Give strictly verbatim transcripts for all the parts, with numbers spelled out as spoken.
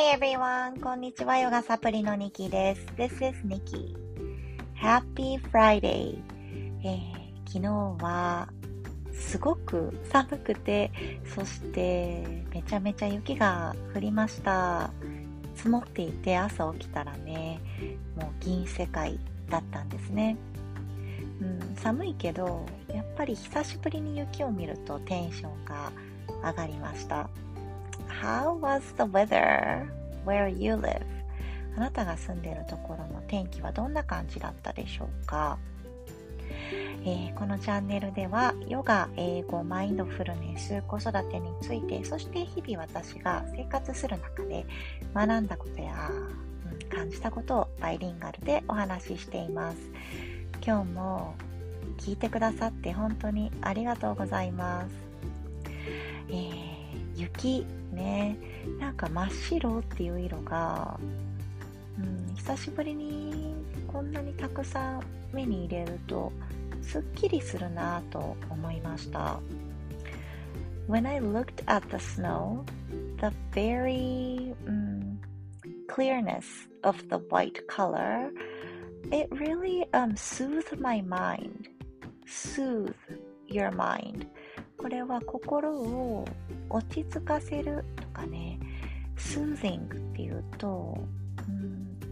Hey everyone! こんにちは。ヨガサプリのニキです。This is Nikki. Happy Friday! えー、昨日はすごく寒くて、そしてめちゃめちゃ雪が降りました。積もっていて朝起きたらね、もう銀世界だったんですね。うん、寒いけど、やっぱり久しぶりに雪を見るとテンションが上がりました。How was the weather where you live? あなたが住んでいるところの天気はどんな感じだったでしょうか？えー、このチャンネルではヨガ、英語、マインドフルネス、子育てについて、そして日々私が生活する中で学んだことや、うん、感じたことをバイリンガルでお話ししています。今日も聞いてくださって本当にありがとうございます。えー、雪ね、なんか真っ白っていう色が、うん、久しぶりにこんなにたくさん目に入れるとすっきりするなと思いました。 When I looked at the snow, the very、um, clearness of the white color, it really、um, soothed my mind. Soothe your mind. これは心を落ち着かせるとかね、soothing っていうと、うん、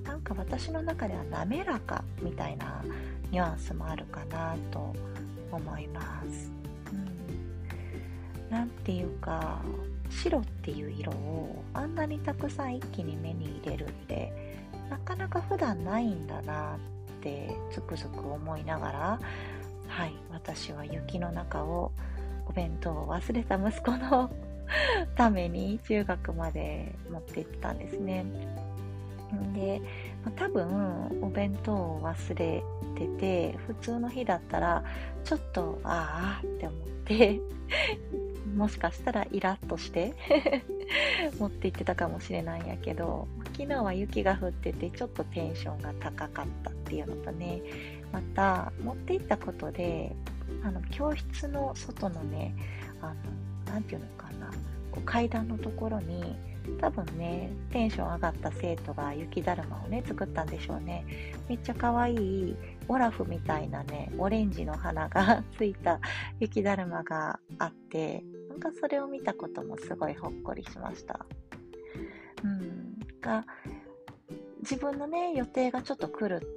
なんか私の中では滑らかみたいなニュアンスもあるかなと思います。うん、なんていうか、白っていう色をあんなにたくさん一気に目に入れるってなかなか普段ないんだなってつくづく思いながら、はい、私は雪の中をお弁当を忘れた息子のために中学まで持って行ってたんですね。で、まあ、多分お弁当を忘れてて、普通の日だったらちょっとああって思ってもしかしたらイラッとして持って行ってたかもしれないんやけど、昨日は雪が降っててちょっとテンションが高かったっていうのとね、また持って行ったことであの教室の外のね、あのなんていうのかな、こう階段のところに多分ねテンション上がった生徒が雪だるまをね作ったんでしょうね。めっちゃ可愛いオラフみたいなねオレンジの花がついた雪だるまがあって、なんかそれを見たこともすごいほっこりしました。うんが自分のね予定がちょっと狂って、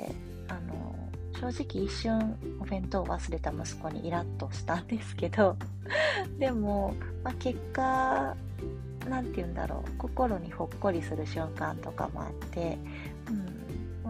あの正直一瞬お弁当を忘れた息子にイラッとしたんですけどでも、まあ、結果なんて言うんだろう、心にほっこりする瞬間とかもあって、うん、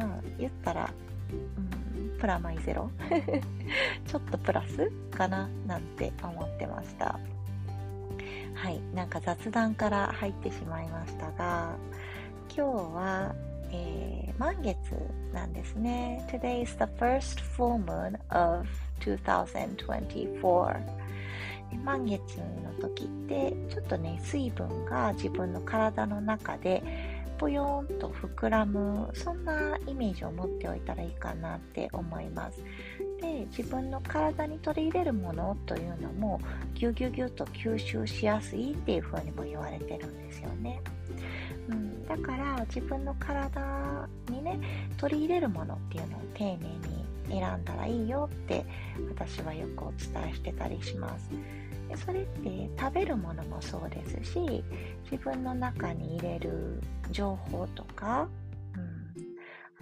まあ言ったら、うん、プラマイゼロちょっとプラスかななんて思ってました。はい、なんか雑談から入ってしまいましたが、今日はえー、満月なんですね。Today is the first full moon of twenty twenty-four。満月の時ってちょっとね水分が自分の体の中でぽよーんと膨らむ、そんなイメージを持っておいたらいいかなって思います。で、自分の体に取り入れるものというのもギュギュギュと吸収しやすいっていう風にも言われてるんですよね。うん、だから自分の体にね取り入れるものっていうのを丁寧に選んだらいいよって私はよくお伝えしてたりします。でそれって食べるものもそうですし、自分の中に入れる情報とか、うん、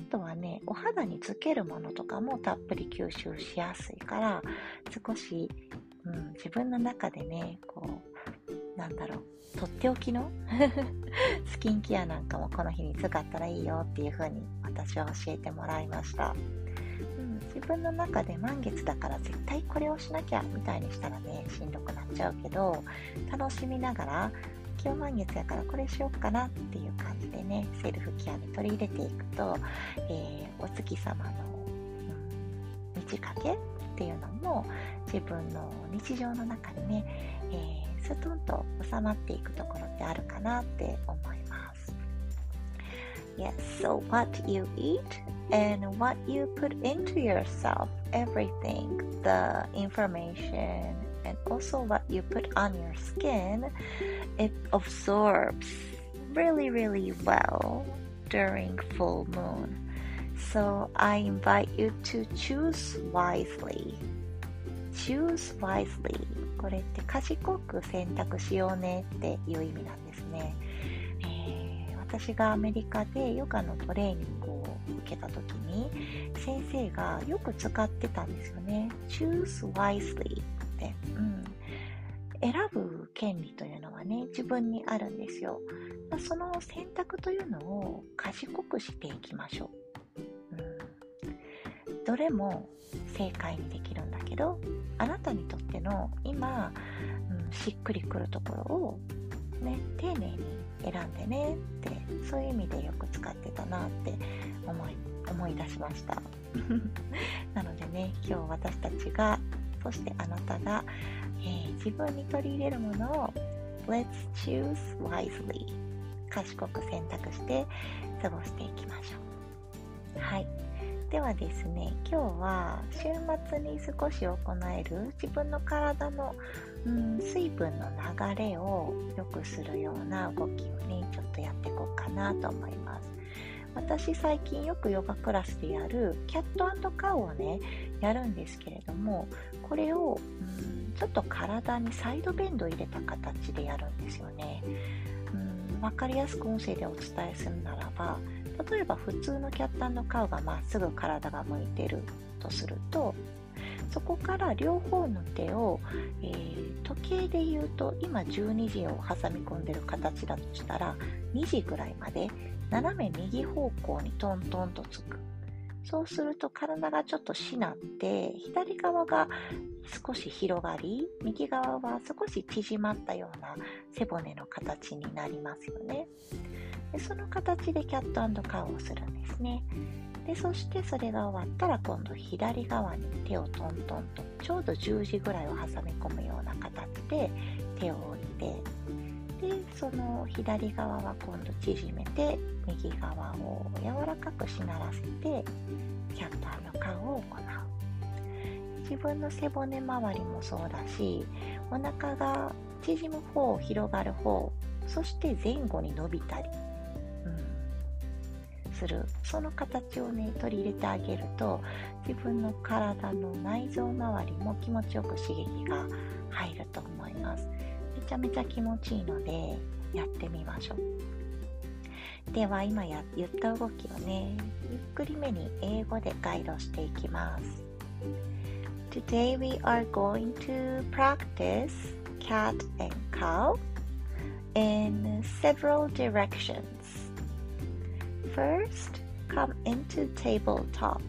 あとはねお肌につけるものとかもたっぷり吸収しやすいから、少し、うん、自分の中でねこうなんだろうとっておきのスキンケアなんかもこの日に使ったらいいよっていう風に私は教えてもらいました。うん、自分の中で満月だから絶対これをしなきゃみたいにしたらねしんどくなっちゃうけど、楽しみながら今日満月やからこれしようかなっていう感じでねセルフケアに取り入れていくと、えー、お月様の、うん、満ち欠けっていうのも自分の日常の中にね、えーストンと収まっていくところってあるかなって思います。Yes, so what you eat and what you put into yourself, everything, the information and also what you put on your skin, it absorbs really, really well during full moon. So I invite you to choose wisely. choose wisely. これって賢く選択しようねっていう意味なんですね。えー、私がアメリカでヨガのトレーニングを受けた時に先生がよく使ってたんですよね。choose wisely って、うん、選ぶ権利というのはね、自分にあるんですよ。その選択というのを賢くしていきましょう。うん、どれも正解にできるんだけど、あなたにとっての今、うん、しっくりくるところを、ね、丁寧に選んでねって、そういう意味でよく使ってたなって思い、思い出しました。なのでね、今日私たちが、そしてあなたが、えー、自分に取り入れるものを Let's choose wisely 賢く選択して過ごしていきましょう。はい。ではですね、今日は週末に少し行える自分の体の、うん、水分の流れを良くするような動きをね、ちょっとやっていこうかなと思います。私最近よくヨガクラスでやるキャット&カウをね、やるんですけれども、これを、うん、ちょっと体にサイドベンドを入れた形でやるんですよね。うん、わかりやすく音声でお伝えするならば、例えば普通のキャット&カウがまっすぐ体が向いてるとすると、そこから両方の手を、えー、時計で言うと今じゅうにじを挟み込んでる形だとしたらにじぐらいまで斜め右方向にトントンとつく。そうすると体がちょっとしなって左側が少し広がり、右側は少し縮まったような背骨の形になりますよね。でその形でキャット&カウをするんですね。でそしてそれが終わったら今度左側に手をトントンとちょうどじゅうじぐらいを挟み込むような形で手を置いて、でその左側は今度縮めて右側を柔らかくしならせてキャット&カウを行う。自分の背骨周りもそうだし、お腹が縮む方、広がる方、そして前後に伸びたりする、その形をね取り入れてあげると自分の体の内臓周りも気持ちよく刺激が入ると思います。めちゃめちゃ気持ちいいのでやってみましょう。では今や言った動きをねゆっくりめに英語でガイドしていきます。 Today we are going to practice cat and cow in several directions.First, come into tabletop.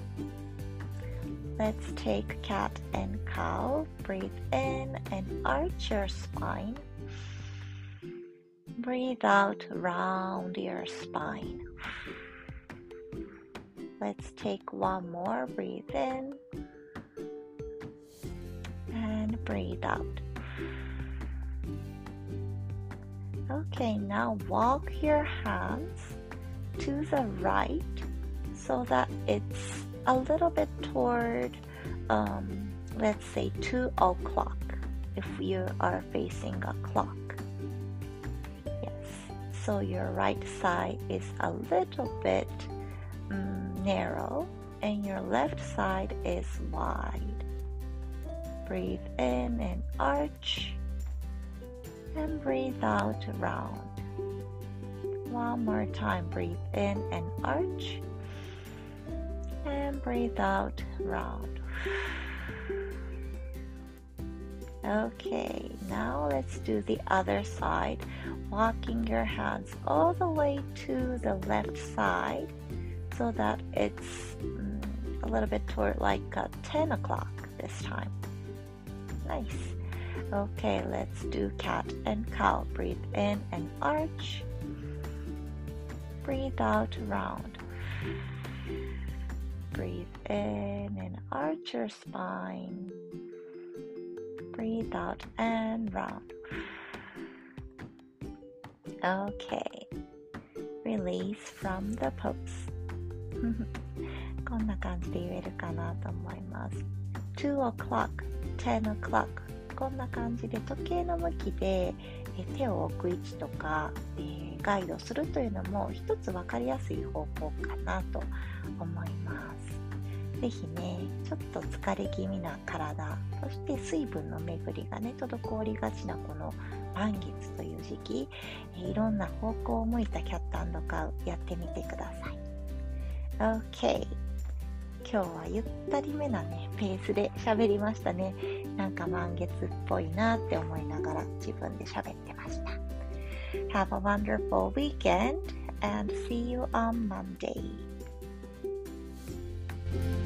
Let's take cat and cow. Breathe in and arch your spine. Breathe out, round your spine. Let's take one more. Breathe in and breathe out. Okay, now walk your hands.to the right so that it's a little bit toward um, let's say two o'clock if you are facing a clock. Yes, so your right side is a little bit um, narrow and your left side is wide. Breathe in and arch and breathe out round.One more time, breathe in and arch and breathe out round. Okay, now let's do the other side, walking your hands all the way to the left side so that it's um, a little bit toward like uh, ten o'clock this time. Nice. Okay, let's do cat and cow. Breathe in and arch.Breathe out round. Breathe in and arch your spine. Breathe out and round. Okay. Release from the pose. こんな感じで言えるかなと思います。two o'clock, ten o'clock こんな感じで時計の向きでえ手を置く位置とか、えー、ガイドするというのも一つ分かりやすい方法かなと思います。ぜひね、ちょっと疲れ気味な体、そして水分の巡りがね、滞りがちなこの満月という時期、えいろんな方向を向いたキャット&カウやってみてください。OK。今日はゆったりめなね、ペースで喋りましたね。なんか満月っぽいなって思いながら自分で喋ってました。Have a wonderful weekend and see you on Monday.